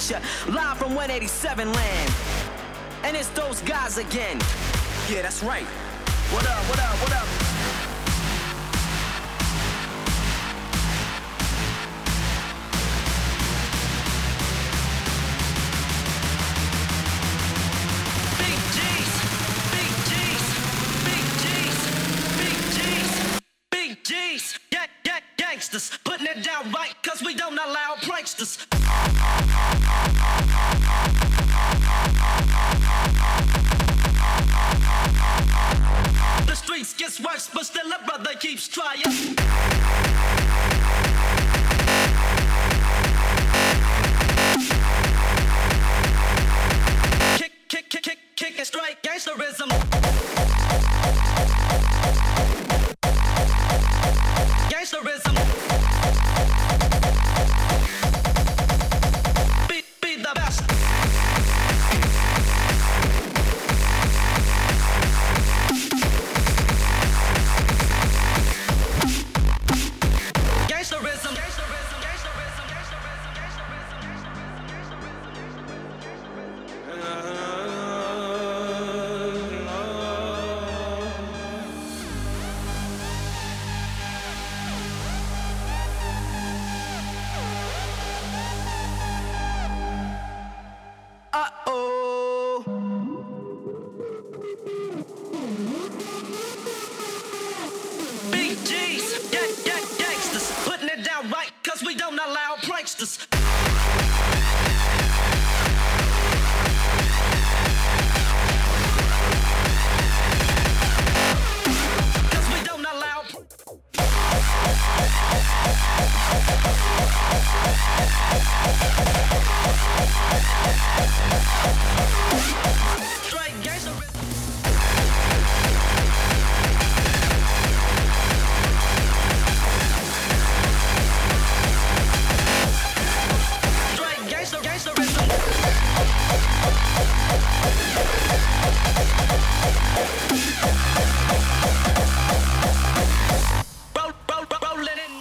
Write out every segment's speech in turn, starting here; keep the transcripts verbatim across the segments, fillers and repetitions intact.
ya, live from one eighty-seven land. And it's those guys again. Yeah, that's right. What up, what up, what up? Big G's, big G's, big G's, big G's, big G's. Gang, gang, gangsters, putting it down right, cause we don't allow pranksters. The streets gets worse, but still a brother keeps trying. Kick, kick, kick, kick, kick and straight gangsterism. Gangsterism. Be, be the best. Gangsterism. Uh-oh. Big G's, gang, gang, gangsters, putting it down right, cause we don't allow pranksters. Cause we don't allow. Straight gangsterism. Straight gangster, gangsterism. Roll, roll, roll, rolling in.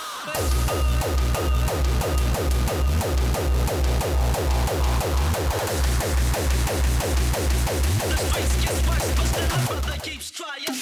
The streets gets worse, but still a brother keeps trying.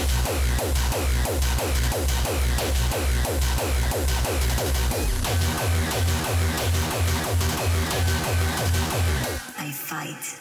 I fight.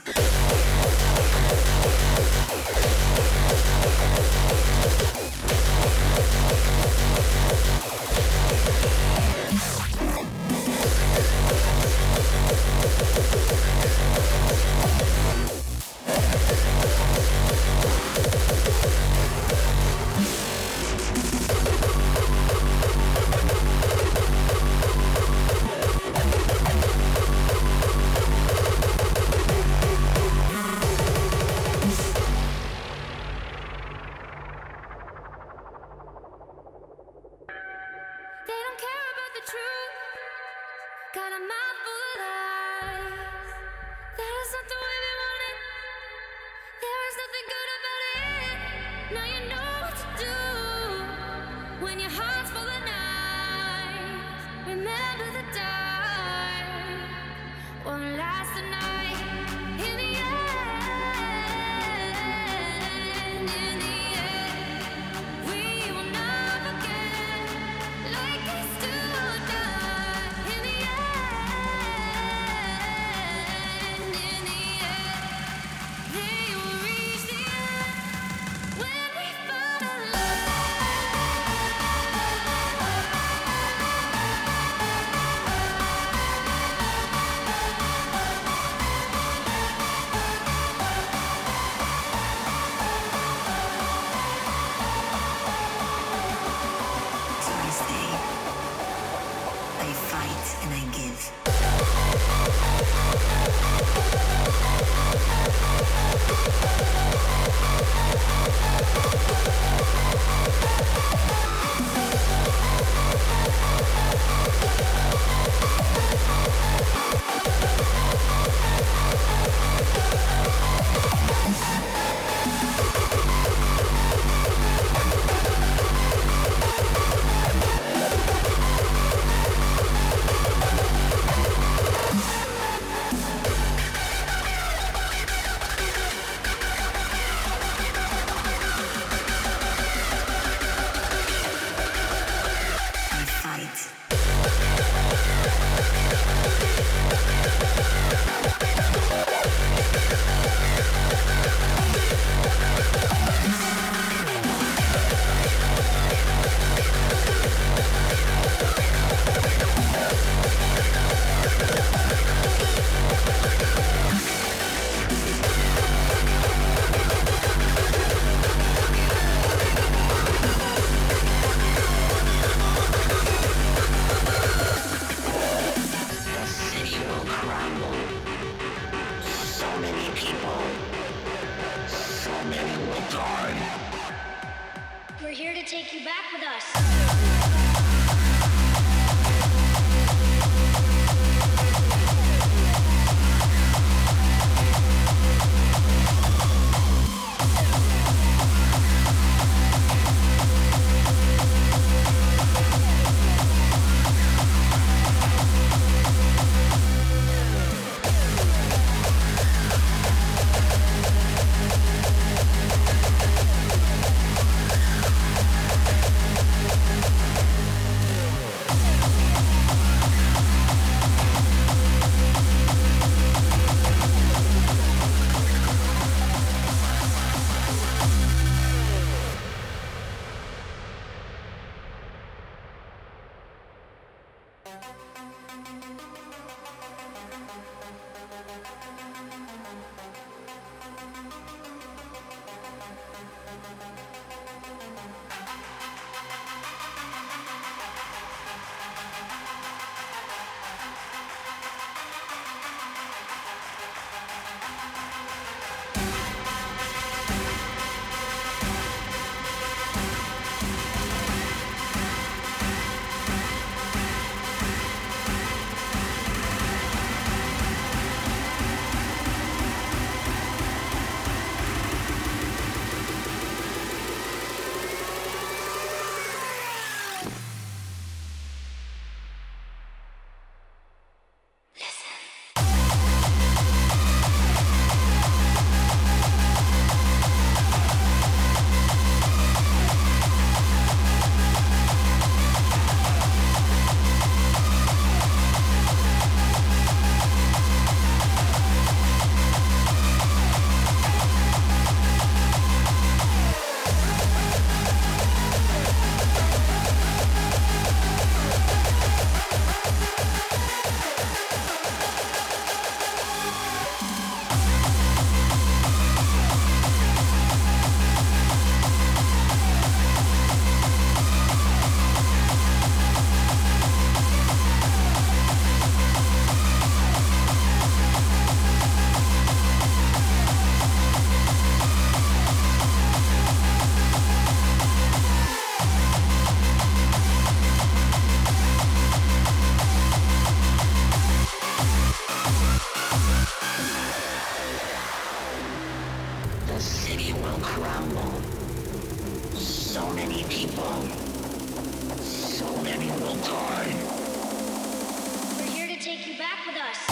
So many people. So many will die. We're here to take you back with us.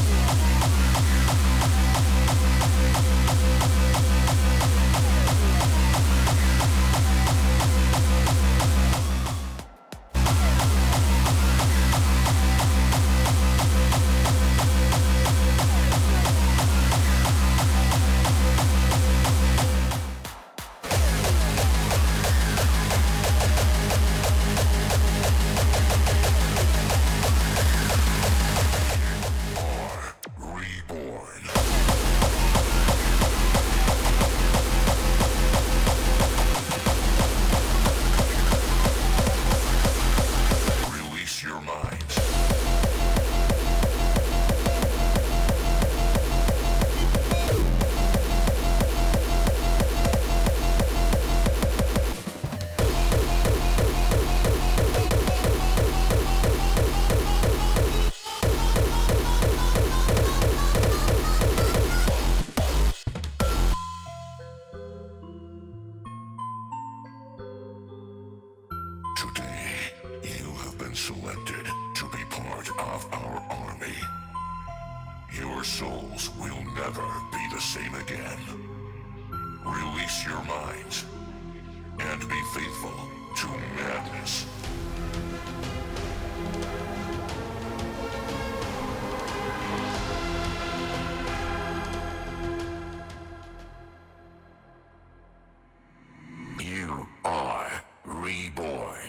Selected to be part of our army. Your souls will never be the same again. Release your minds and be faithful to madness. You are reborn.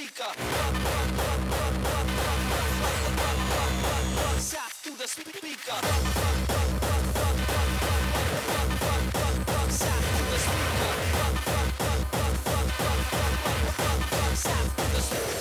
speaker. South through the speaker. South through the speaker. South through the speaker.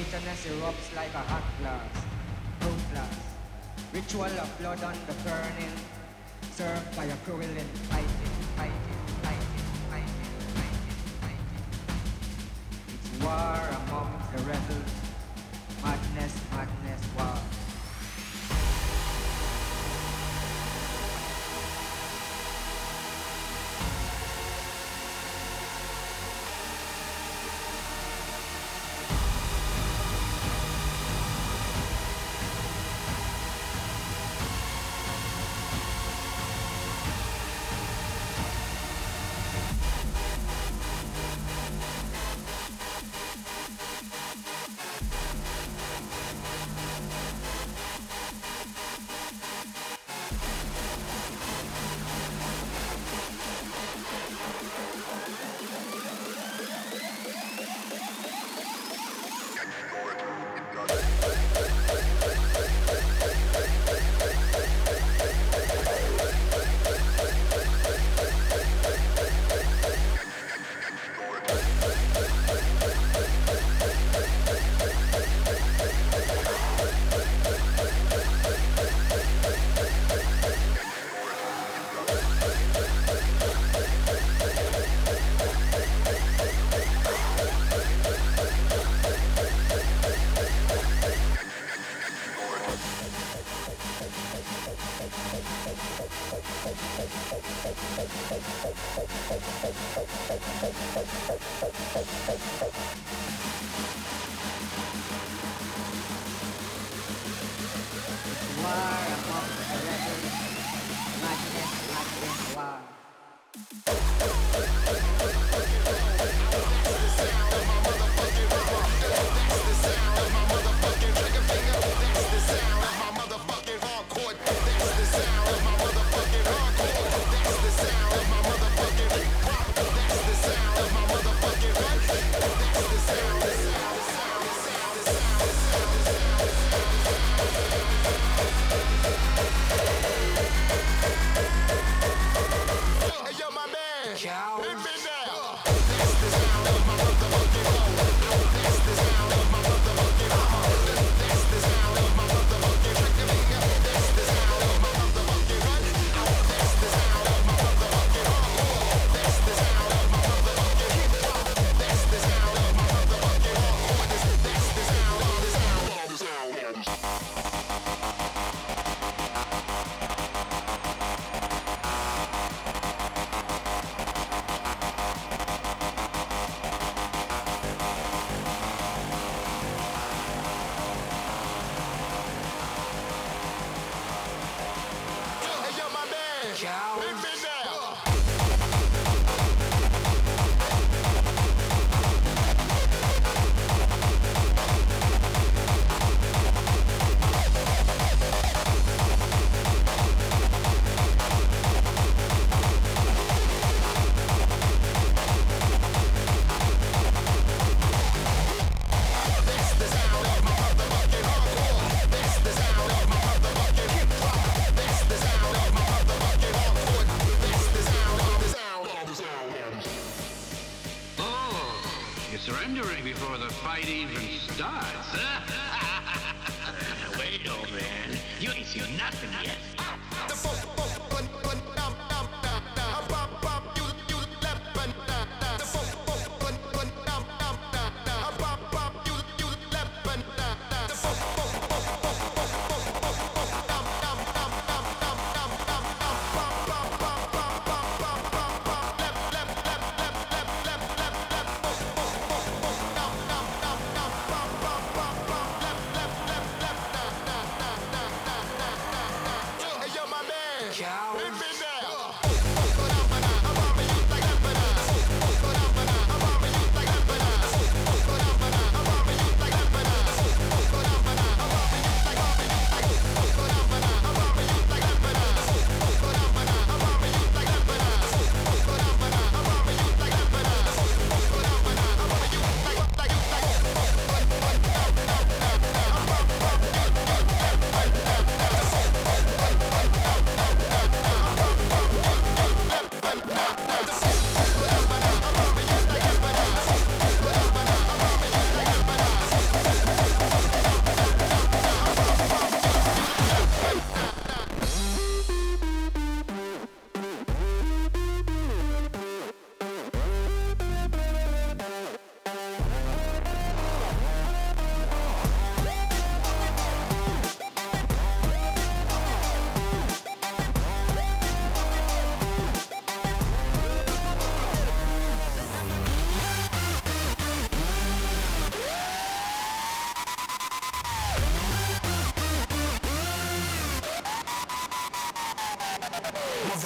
bitterness erupts like a hot blast, ruthless. Ritual of blood on the burning, served by a cruel and fighting, fighting, fighting, fighting, fighting, fighting. It's war among the rebels, madness, madness, war. Surrendering before the fight even starts. Wait, old man. You ain't seen nothing yet.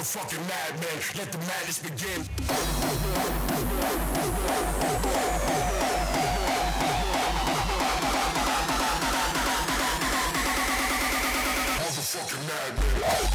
Motherfucking madman, let the madness begin. Motherfucking madman.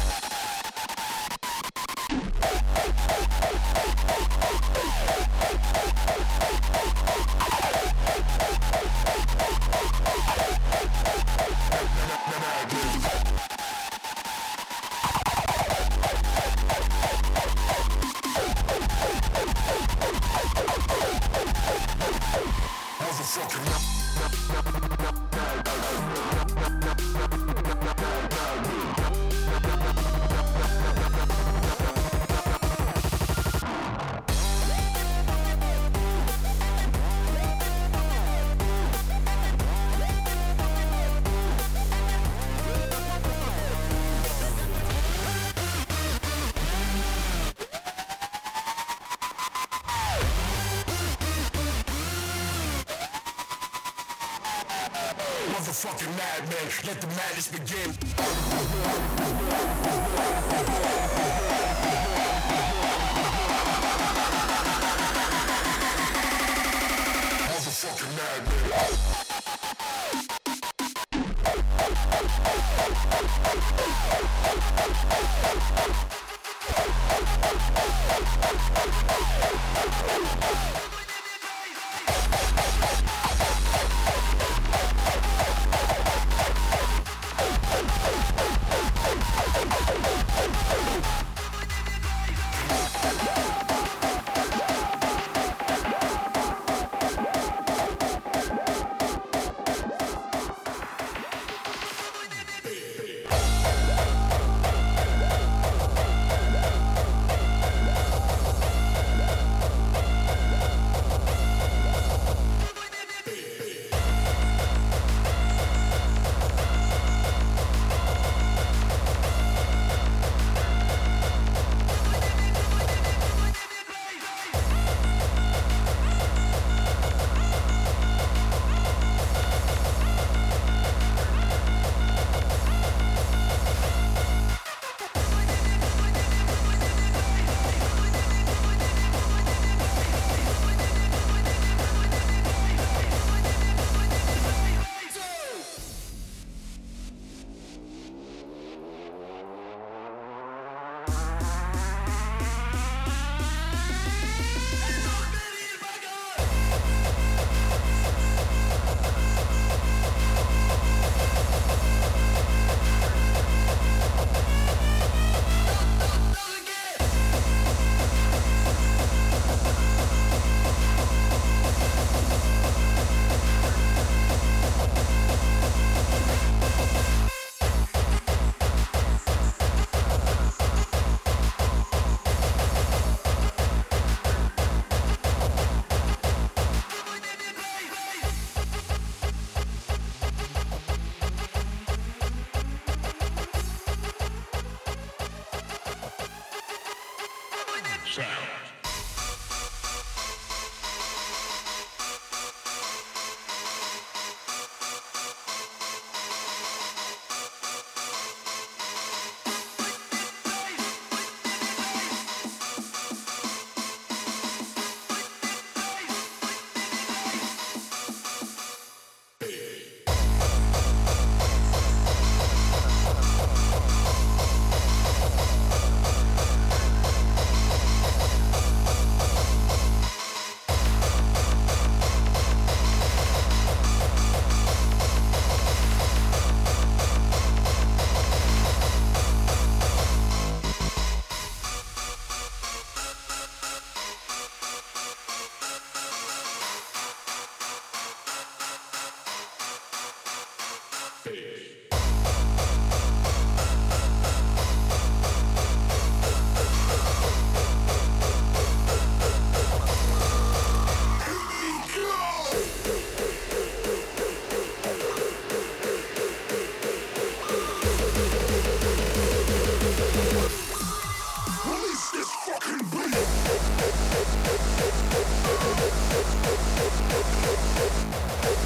Motherfucking madman, let the madness begin. Motherfucking madman.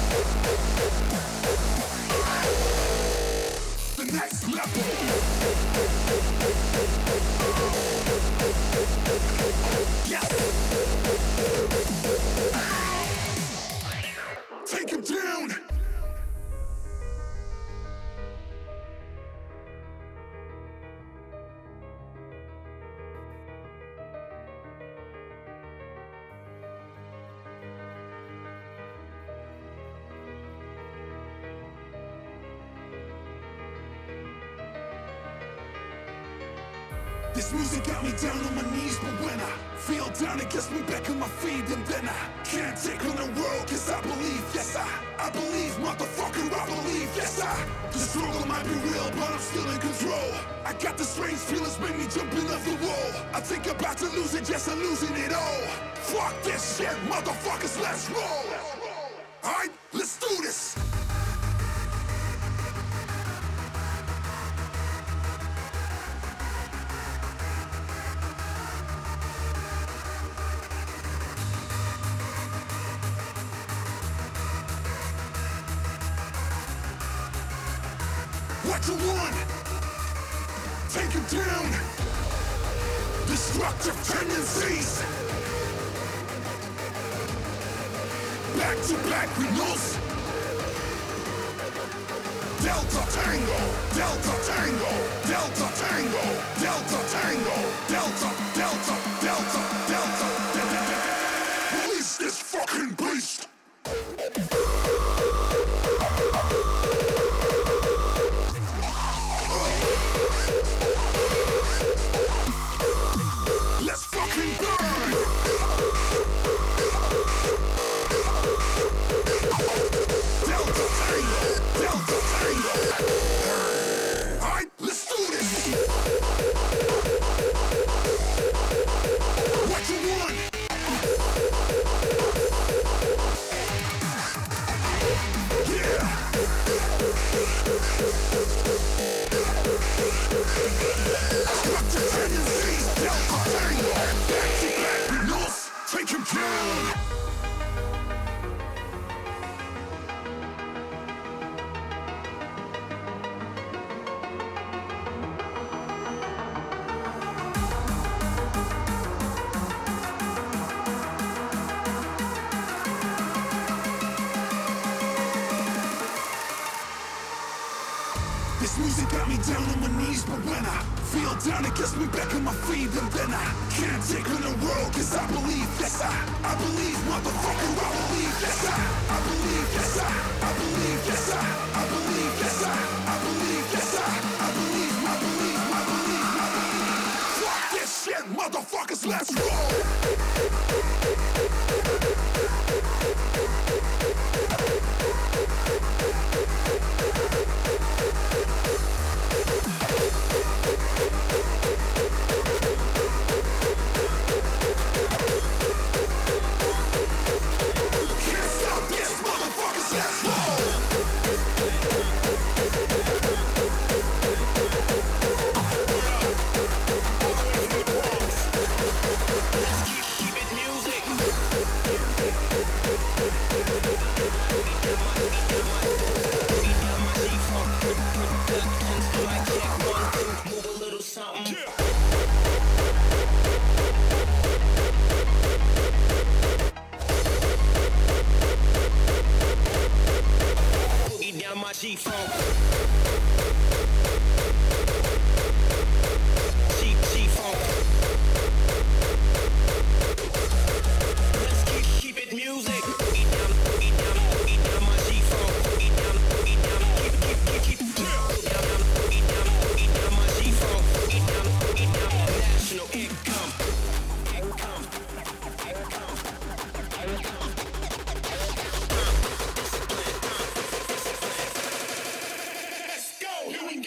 The next level. Take him down. This music got me down on my knees, but when I feel down, it gets me back on my feet, and then I can't take on the world, cause I believe, yes I, I believe, motherfucker, I believe, yes I, the struggle might be real, but I'm still in control. I got the strange feelings, make me jumping off the wall. I think I'm about to lose it, yes I'm losing it all. Fuck this shit, motherfuckers, let's roll. Alright, let's do this. What you want? Take him down. Destructive tendencies. Back to back with nos. Delta Tango, Delta Tango, Delta Tango, Delta Tango, Delta, Delta, Delta, Delta, Delta. Release this fucking beast. Let's fucking burn! Delta Tango! Delta Tango! Alright, let's do this! What you want? Yeah! Destructive tendencies! Delta Tango! Back to back with nos! Take him down! This music got me down on my knees, but when I feel down, it gets me back on my feet, and then I can't take on the world, cause I believe, yes I, I believe, motherfucker, I believe, yes I, I believe, yes I, I believe, yes I, I believe, yes I, I believe, yes I, I believe, I believe, I believe, I believe. Fuck this shit, motherfuckers, let's roll! Can't stop this, motherfuckers, let's roll! Keep it music. Move a little something. Boogie down my G-funk. G G-funk. Let's keep keep it music. Boogie down, boogie down, boogie down my G-funk. Boogie down, boogie down, keep keep keep keep. Boogie down, boogie down, boogie down my G-funk. Boogie down, boogie down, national income. Income. Income. Income. Let's go. Here we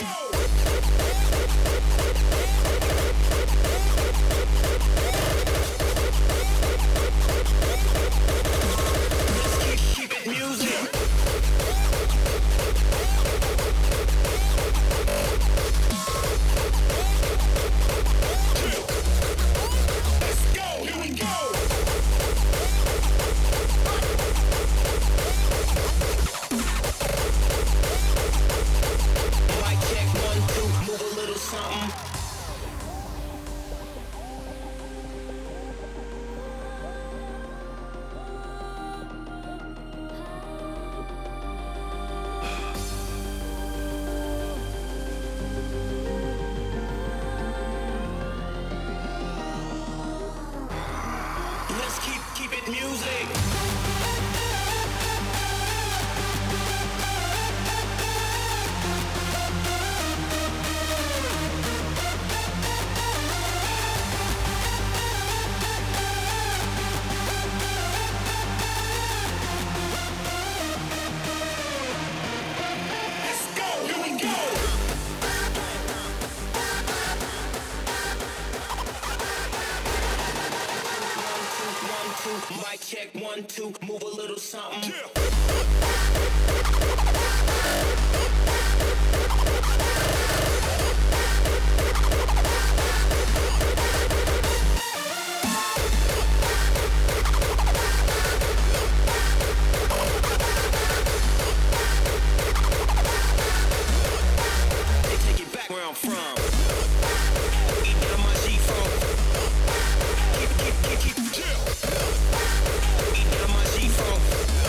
one, two, move a little something. Yeah. Where I'm from. Eat down my Z-Funk. Keep, keep, keep, keep, chill. Eat down my Z-Funk.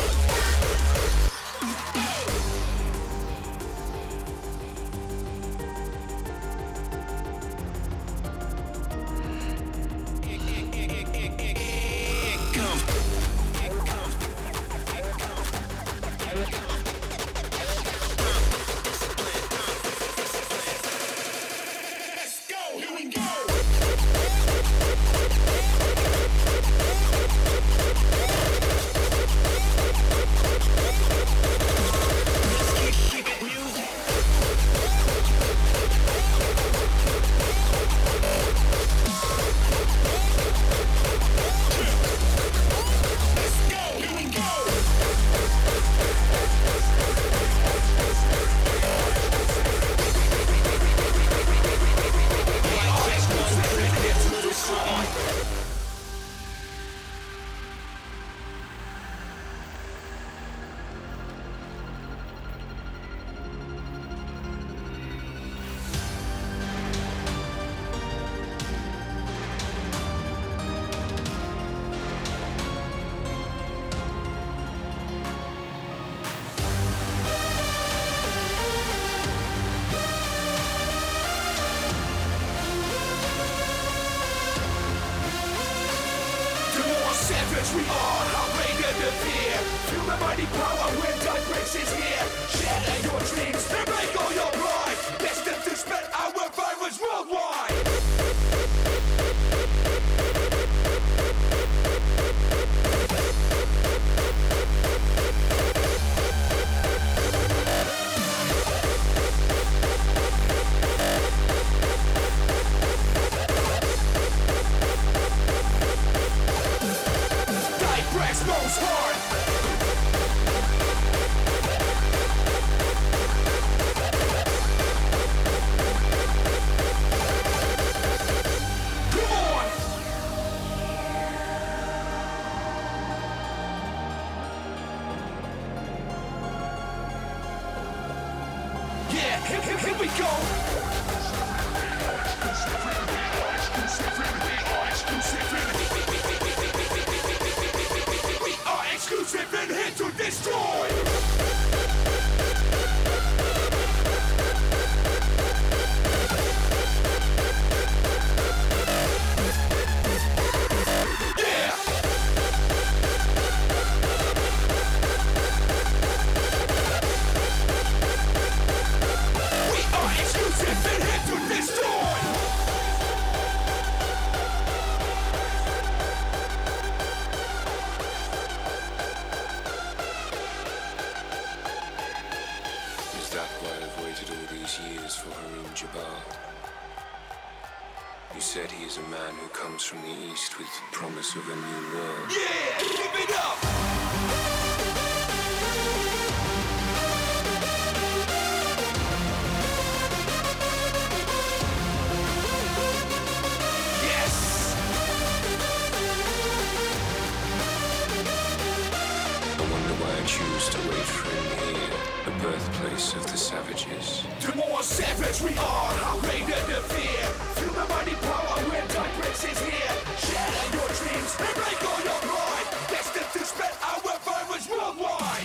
We are outrageous the fear. Feel the mighty power when time breaks is here. Shatter your dreams and break all your pride. Destined to spread our virus worldwide. Most hard. Come on. Yeah, here, here, here we go. Exclusive and here to destroy. Yeah. We are exclusive and here to destroy. Years for Haroon Jabbar. You said he is a man who comes from the east with the promise of a new world. Yeah, give it up! Yes! I wonder why I choose to wait for him here, the birthplace of the savages. The more savage we are, how greater the fear. Feel the mighty power when time breaks is here. Shatter your dreams and break all your pride. Destined to spread our virus worldwide.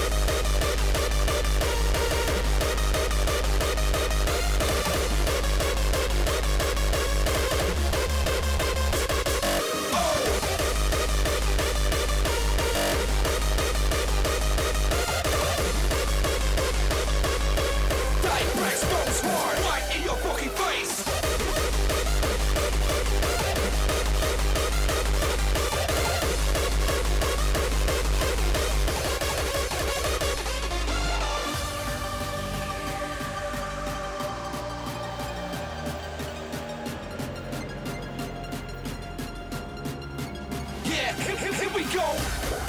Right in your fucking face. Yeah, here, here, here we go.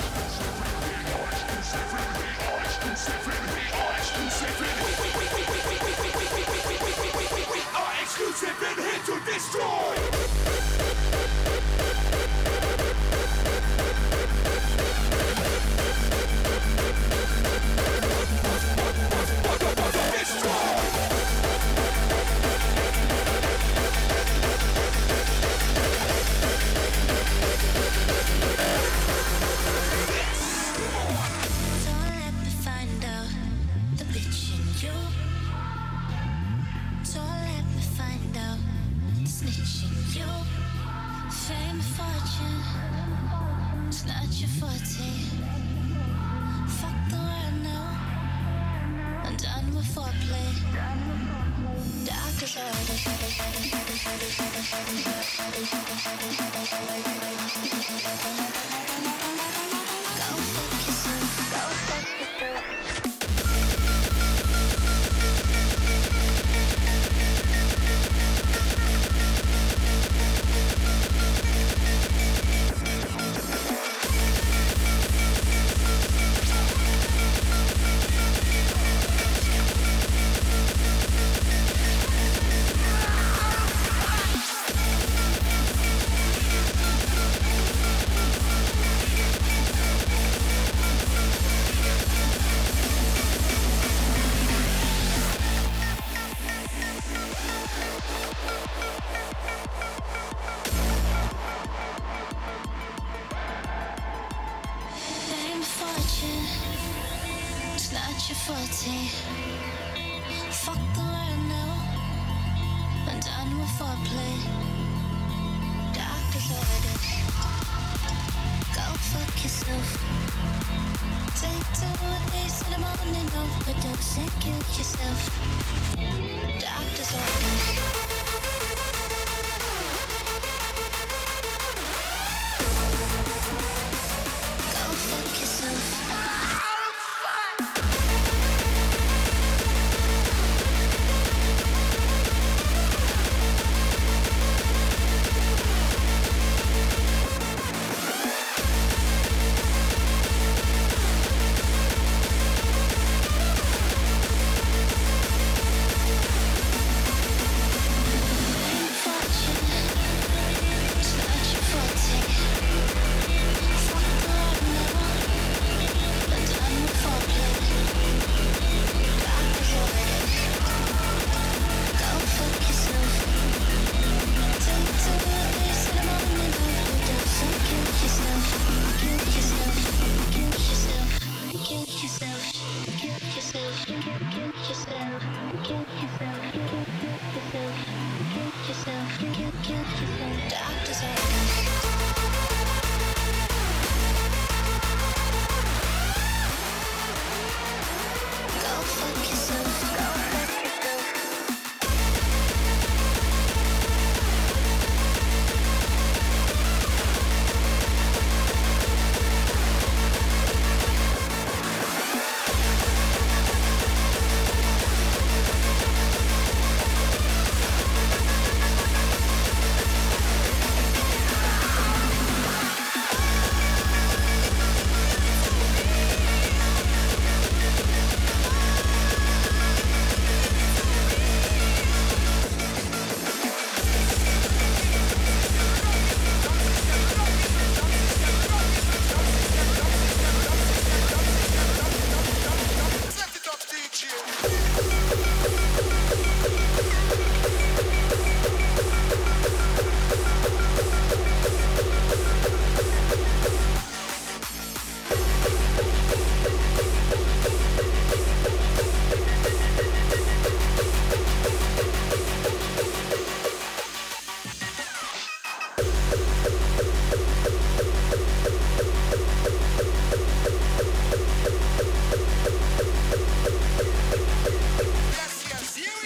Yes, yes, you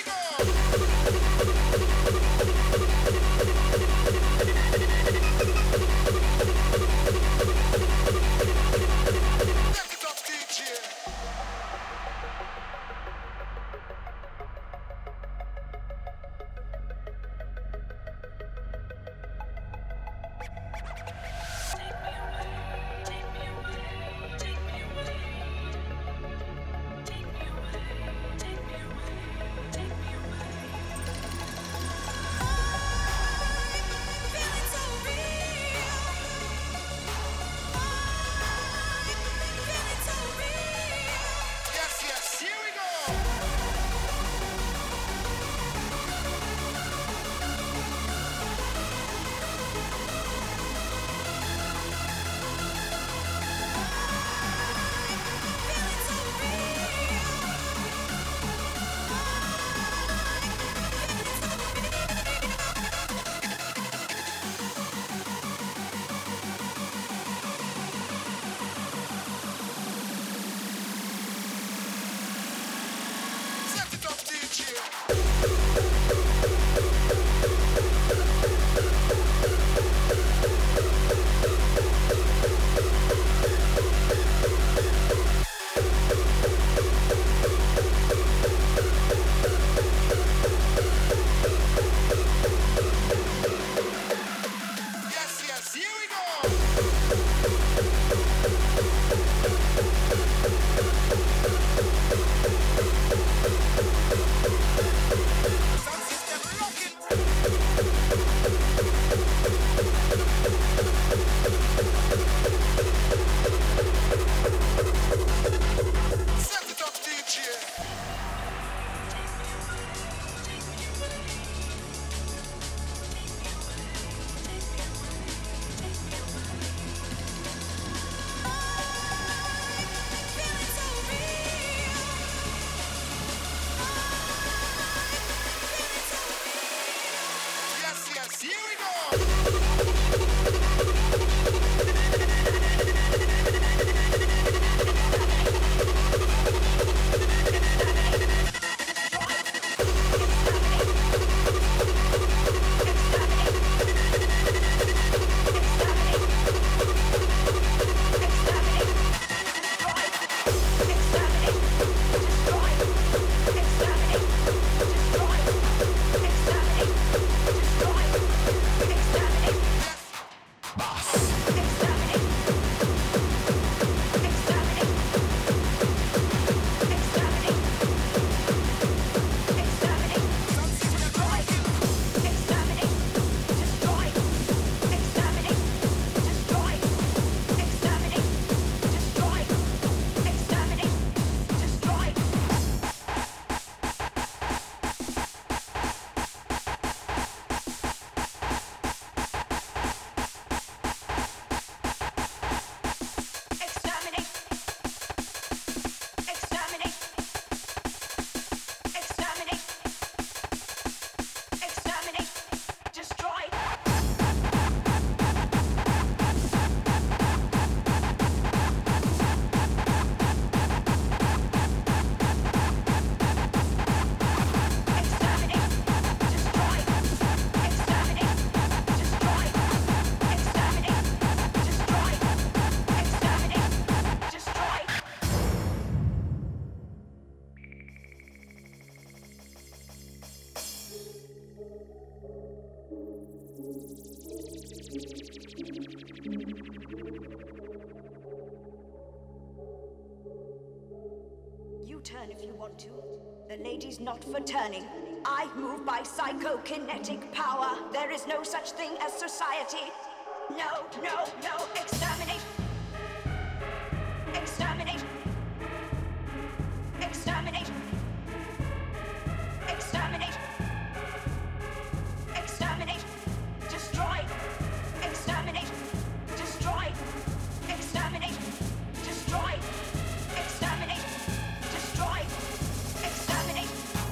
The lady's not for turning. I move by psychokinetic power. There is no such thing as society. No, no, no. Exterminate. Exterminate. Exterminate. Exterminate. Exterminate. Destroy. Exterminate. Destroy. Exterminate. Destroy. Exterminate. Destroy. Exterminate.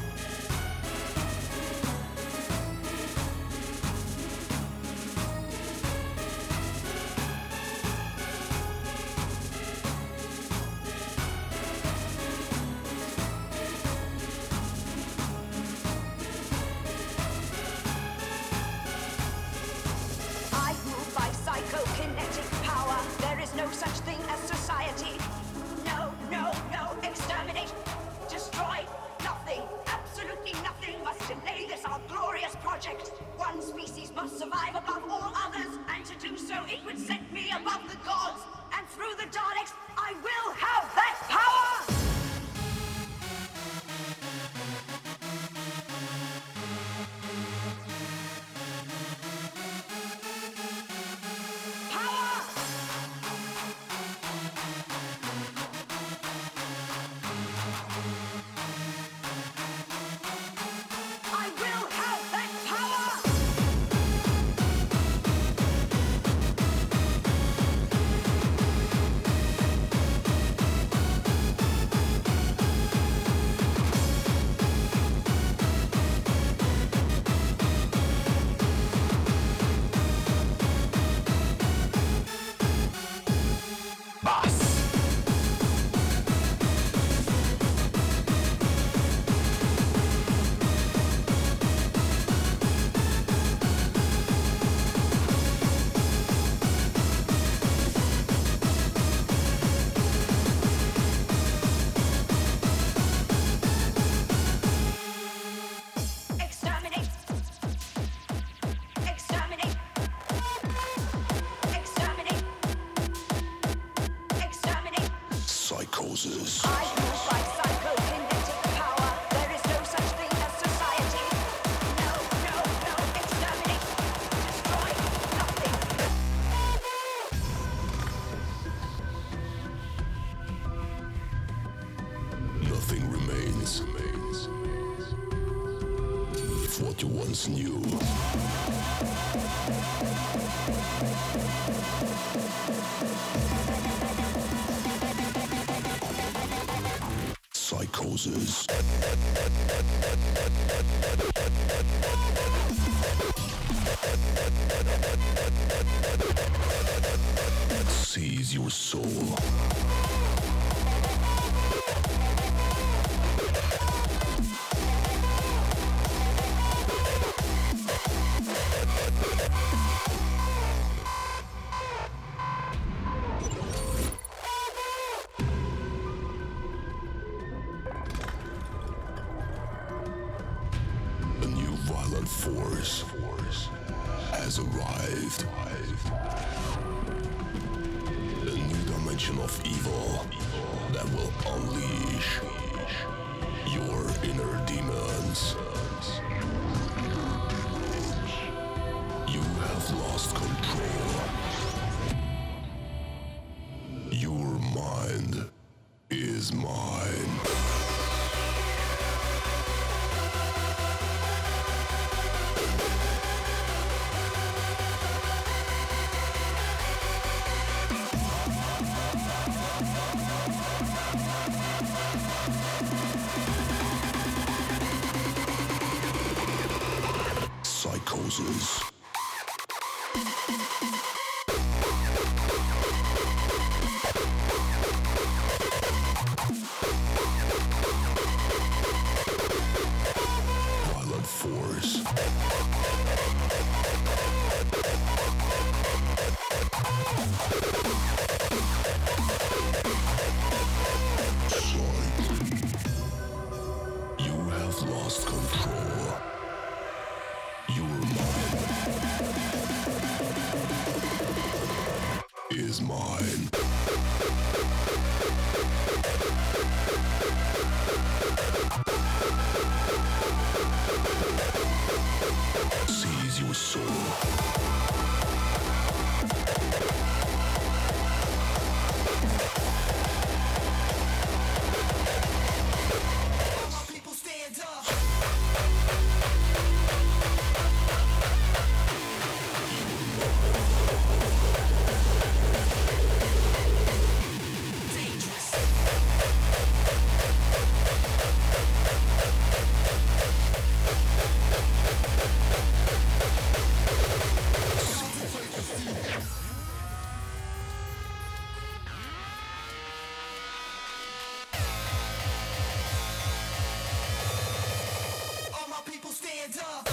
I move by psychokinetic power. There is no such thing as society. No, no, no. Exterminate. Destroy. Nothing. Absolutely nothing must delay this our glorious project. One species must survive above all others, and to do so it would set me above the gods. And through the Daleks, I will have that power! I will have that power! Exterminate! Exterminate! Exterminate! Exterminate! Psychosis. I move by psychokinetic power. There is no such thing as society. No, no, no. Exterminate. Destroy. Nothing. Nothing remains. remains. If what you once knew psychosis. Seize your soul. A new violent force has arrived. A new dimension of evil that will unleash your inner demons. You have lost control. Your mind is mine. Psychosis. Violent force. You have lost control. Your mind is mine. stand up.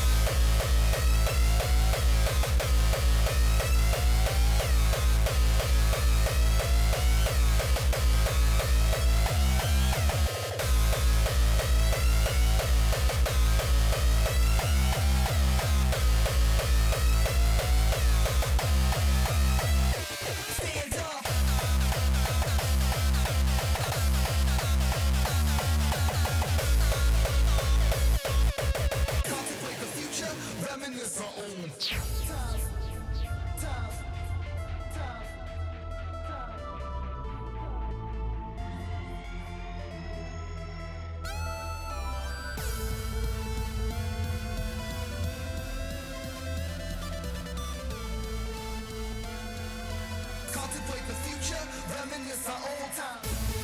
Contemplate the future, reminisce our old time.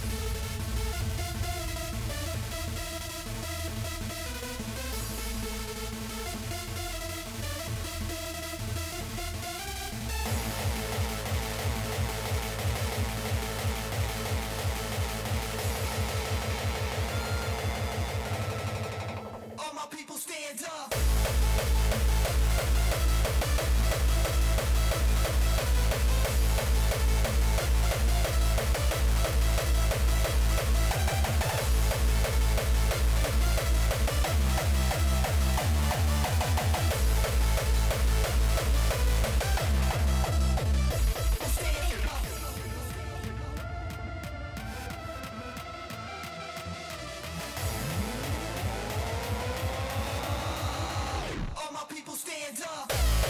All my people stand up. All my people stand up.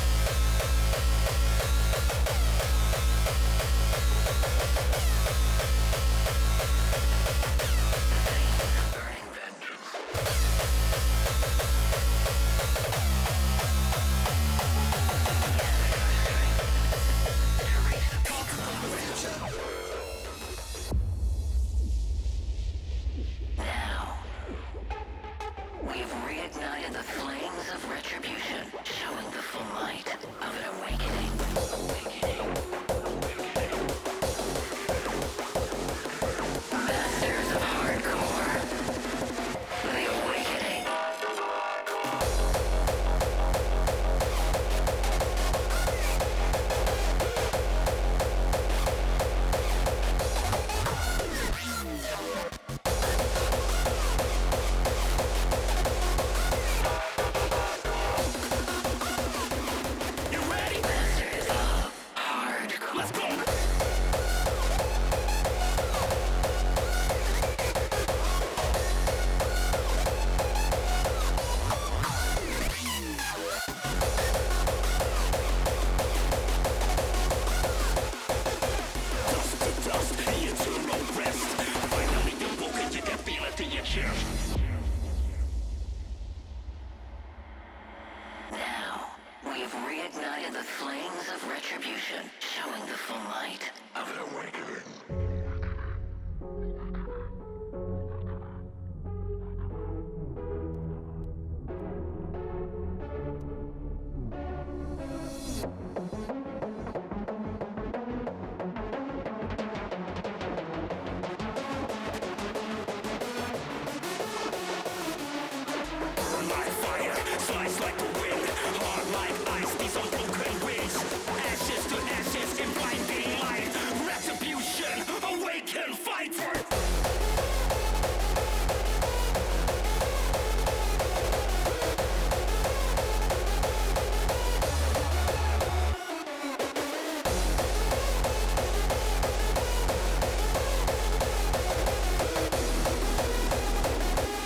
Now, we've reignited the flames of retribution, showing the full might of an awakening. Awakening. Masters of hardcore. The awakening. You ready? Masters of hardcore. Let's go. Dust to dust, eternal rest. Finally awoken, you can feel it in your chest. Now, we've reignited the flames of retribution, showing the full might of an awakening. Burn like fire, slice like the wind. Hard like ice, these unbroken wings. Ashes to ashes in blinding light. Retribution, awaken, fight for.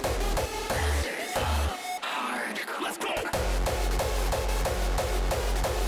Masters of hardcore. Let's go.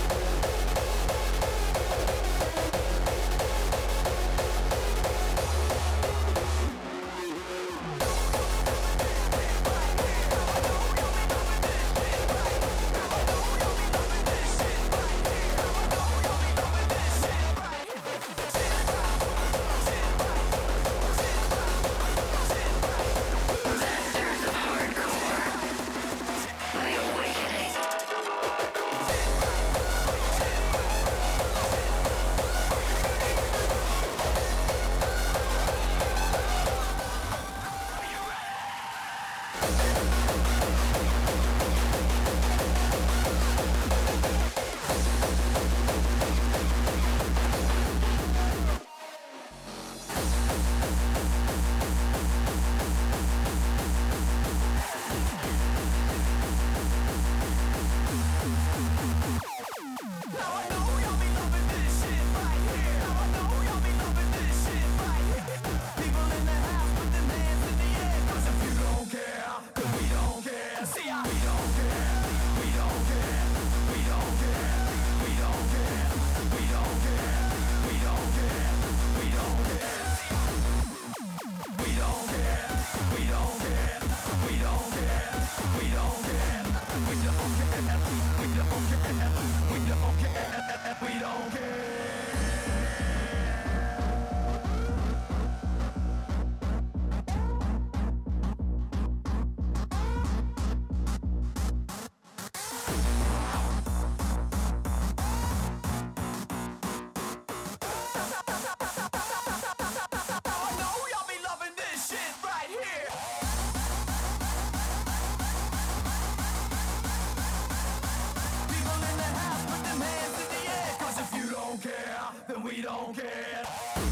we don't care.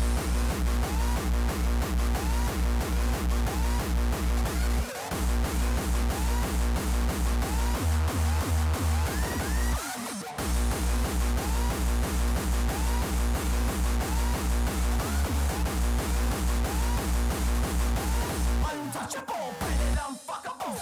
Untouchable, planet unfuckable.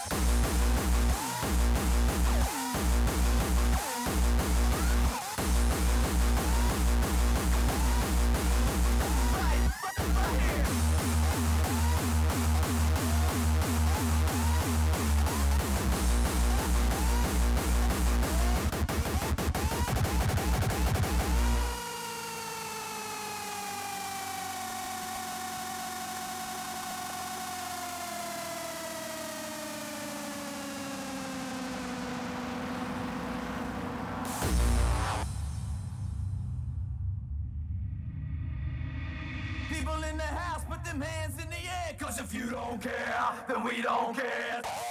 People in the house, put them hands in the air. Cause if you don't care, then we don't care.